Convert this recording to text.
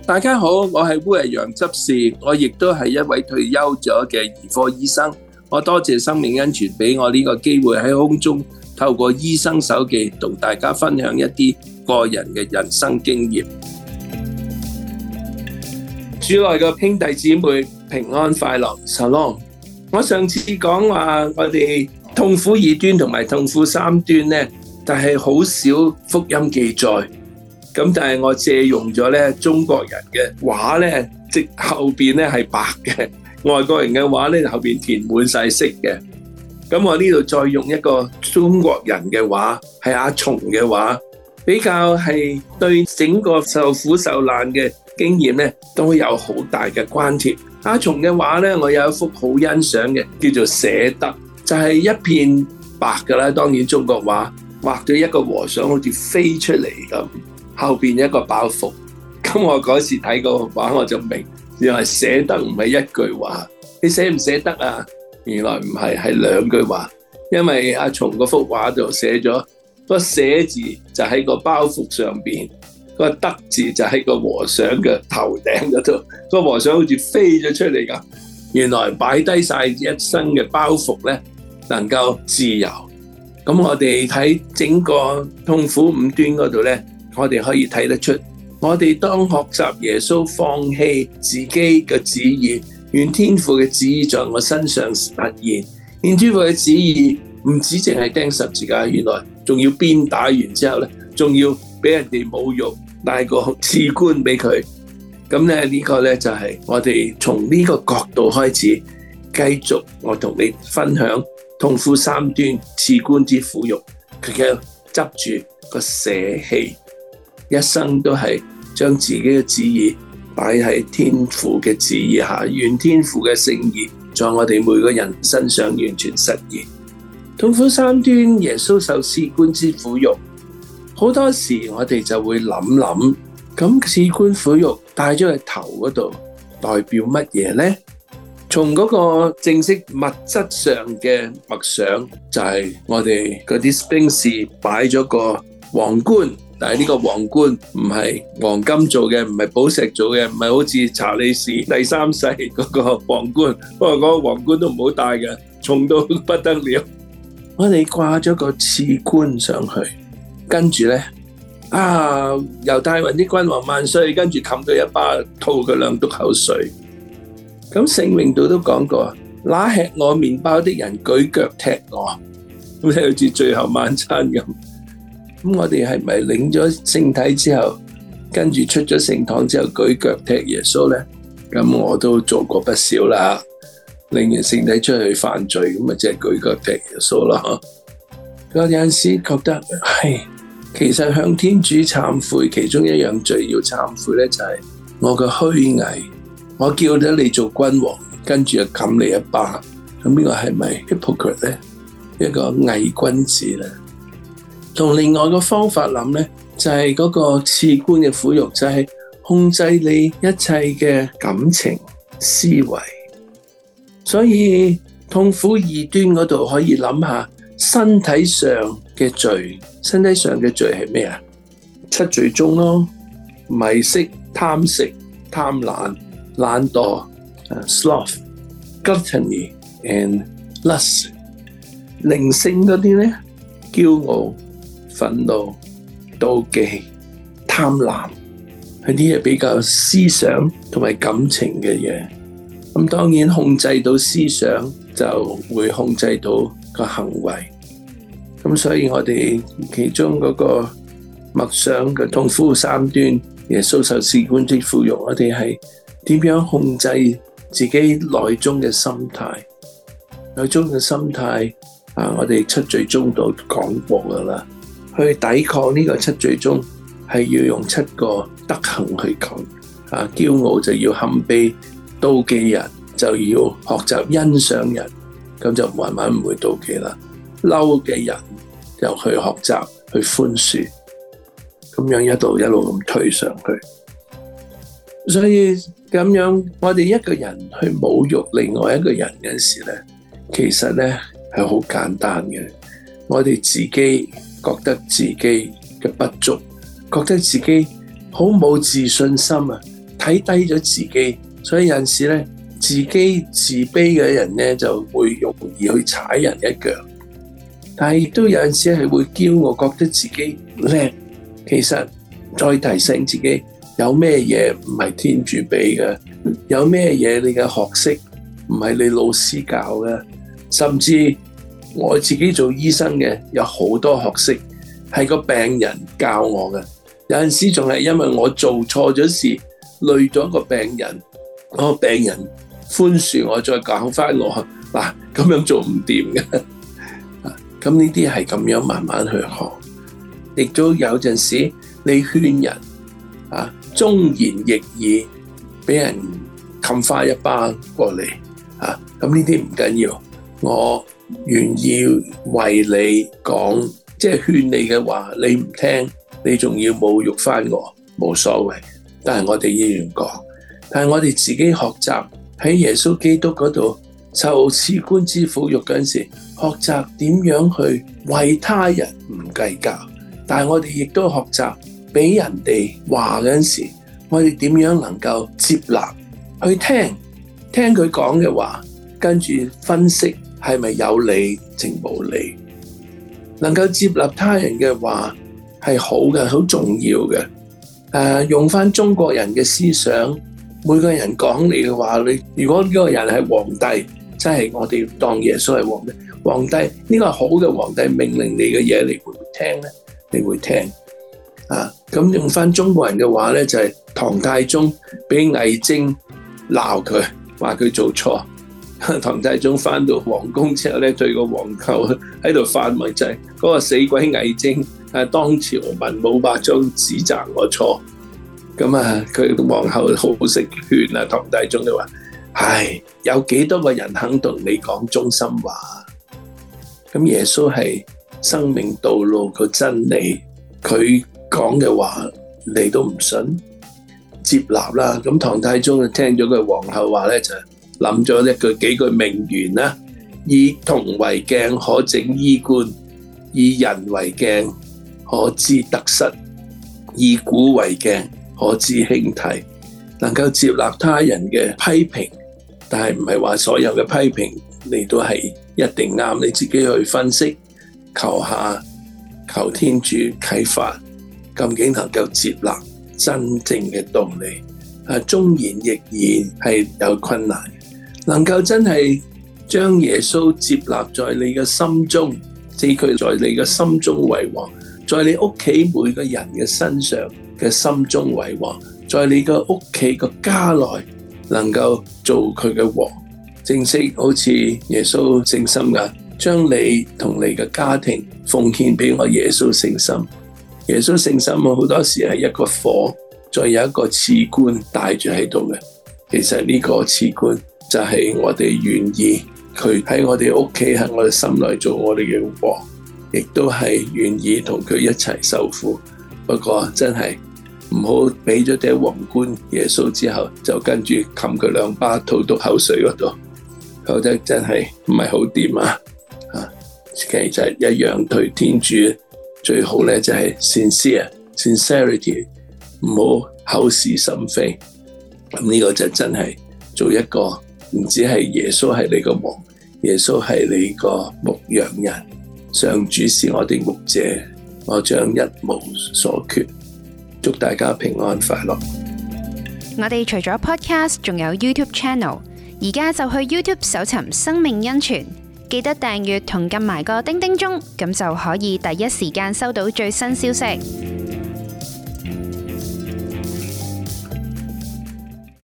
大家好，我係烏日陽執事，我亦都係一位退休咗嘅兒科醫生。我多謝生命恩泉俾我呢個機會喺空中透過醫生手記同大家分享一啲個人嘅人生經驗。主內嘅兄弟姊妹平安快樂 ，Shalom。我上次講話我哋痛苦二端同埋痛苦三端呢，但係好少福音記載。咁但係我借用咗咧中國人嘅話咧，即後邊咧係白嘅，外國人嘅話咧後邊填滿晒色嘅。咁我呢度再用一個中國人嘅話，係阿松嘅話，比較係對整個受苦受難嘅經驗咧都有好大嘅關係。阿松嘅話咧，我有一幅好欣賞嘅，叫做捨得，就係一片白噶啦。當然中國畫畫咗一個和尚好似飛出嚟咁。後邊一個包袱，咁我嗰時睇個畫我就明，原來捨得唔係一句話，你捨唔捨得啊？原來唔係，係兩句話，因為阿松嗰幅畫度寫咗個捨字就喺個包袱上邊，個得字就喺個和尚嘅頭頂嗰度，個和尚好似飛咗出嚟咁。原來擺低晒一生嘅包袱咧，能夠自由。咁我哋睇整個痛苦五端嗰度咧。我哋可以睇得出，我哋當學習耶穌放棄自己嘅旨意，願天父嘅旨意在我身上實現。願天父嘅旨意唔止淨係釘十字架，原來仲要鞭打完之後咧，仲要俾人哋侮辱，帶個賜冠俾佢。咁咧呢個咧就係我哋從呢個角度開始，繼續我同你分享痛苦三端賜冠之苦辱，佢嘅執住個捨棄。一生都係將自己嘅旨意擺喺天父嘅旨意下，願天父嘅聖意在我哋每個人身上完全實現。痛苦三端，耶穌受賜冠之苦辱，好多時我哋就會諗，咁賜冠苦辱戴咗喺頭嗰度，代表乜嘢呢？從嗰個正式物質上嘅默想，就係我哋嗰啲兵士擺咗個皇冠。但係呢個皇冠唔係黃金做嘅，唔係寶石做嘅，唔係好似查理士第三世嗰個皇冠，不過嗰個皇冠都唔好戴嘅，重到不得了。我哋掛咗個賜冠上去，跟住咧猶大雲啲君王萬歲，跟住冚佢一巴，吐佢兩督口水。咁聖詠度都講過，那吃我麵包的人舉腳踢我，咁好似最後晚餐咁。咁我哋係咪領咗聖體之後，跟住出咗聖堂之後舉腳踢耶穌呢？咁我都做過不少啦。領完聖體出去犯罪，咁咪即係舉腳踢耶穌咯。我有陣時覺得其實向天主懺悔，其中一樣罪要懺悔呢，就係我嘅虛偽。我叫咗你做君王，跟住就冚你一巴，咁呢個係咪 hypocrite 呢？一個偽君子呢？同另外個方法諗呢，就係嗰個賜冠嘅苦辱，就係控制你一切嘅感情思維。所以痛苦二端嗰度可以諗下身體上嘅罪，身體上嘅罪係咩啊？七罪宗咯，迷色、貪食、貪婪、懶惰、sloth、gluttony and lust。靈性嗰啲呢，驕傲、憤怒、妒忌、貪婪，係啲嘢比較思想同埋感情嘅嘢。咁當然控制到思想，就會控制到個行為。咁所以我哋其中嗰個默想嘅痛苦三端，耶穌受賜冠之苦辱，我哋係點樣控制自己內中嘅心態？內中嘅心態我哋七罪宗都講過噶啦。去抵抗呢個七罪宗，係要用七個德行去講。驕傲就要謙卑，妒忌人就要學習欣賞人，咁就慢慢唔會妒忌啦。嬲嘅人就去學習去寬恕，咁樣一路咁推上去。所以咁樣，我哋一個人去侮辱另外一個人嗰時咧，其實咧係好簡單嘅。我哋自己覺得自己嘅不足，覺得自己好冇自信心啊， 睇低咗自己，所以有陣時咧，自己自卑嘅人咧就會容易去踩人一腳。但係亦都有陣時係會驕傲，覺得自己叻。其實再提醒自己，有咩嘢唔係天主俾嘅，有咩嘢你嘅學識唔係你老師教嘅，甚至我自己做醫生嘅有好多學識係個病人教我嘅。有陣時仲係因為我做錯咗事，累咗個病人，個病人寬恕我，再教翻我嗱，咁樣做唔掂嘅。咁呢啲係咁樣慢慢去學，亦都有陣時你勸人忠言逆耳，俾人冚翻一巴過嚟咁呢啲唔緊要，我願意為你講，即係勸你嘅話，你唔聽，你仲要侮辱翻我，冇所謂。但係我哋依然講，但係我哋自己學習喺耶穌基督嗰度受賜官之苦辱嗰陣時，學習點樣去為他人唔計較。但係我哋亦都學習俾人哋話嗰陣時，我哋點樣能夠接納去聽佢講嘅話，跟住分析係咪有理定無理。能夠接納他人嘅話係好嘅，好重要嘅。用翻中國人嘅思想，每個人講你嘅話，你如果呢個人係皇帝，即係我哋當耶穌係皇帝，皇帝呢個好嘅皇帝命令你嘅嘢，你會唔會聽呢？你會聽咁用翻中國人嘅話咧，就係唐太宗俾魏徵鬧佢，話佢做錯。唐太宗翻到皇宮之後咧，對個皇后喺度發問，就係嗰個死鬼魏徵當朝文武百官指責我錯。咁佢皇后好識勸唐太宗就話：唉，有幾多個人肯同你講中心話？咁耶穌係生命道路個真理，佢講嘅話你都唔信，接納啦。咁唐太宗就聽咗佢皇后話咧，就諗咗幾句名言啦：以銅為鏡，可整衣冠；以人為鏡，可知得失；以古為鏡，可知興替。能夠接納他人嘅批評，但係唔係話所有嘅批評你都係一定啱，你自己去分析，求天主啟發，究竟能夠接納真正嘅道理。忠言逆耳係有困難，能夠真係將耶穌接納在你嘅心中，即佢在你嘅心中為王，在你屋企每個人嘅身上嘅心中為王，在你嘅屋企個家內能夠做佢嘅王，正式好似耶穌聖心㗎，將你同你嘅家庭奉獻俾我耶穌聖心。耶穌聖心好多時係一個火，再有一個賜冠帶住喺度嘅。其實呢個賜冠就係我哋願意佢喺我哋屋企，喺我哋心內做我哋嘅王，亦都係願意同佢一齊受苦。不過真係唔好俾咗頂皇冠耶穌之後，就跟住冚佢兩巴，吐到口水嗰度，覺得真係唔係好掂啊！其實一樣對天主最好咧，就係 sincerity， 唔好口是心非。咁呢個就真係做一個唔止係耶穌係你個王，耶穌係你個牧羊人，上主是我哋牧者，我將一無所缺。祝大家平安快樂。 我哋除咗 podcast， 仲有 YouTube channel， 而家就去 YouTube 搜尋生命恩泉，記得訂閱同撳埋個叮叮鐘，咁就可以第一時間收到最新消息。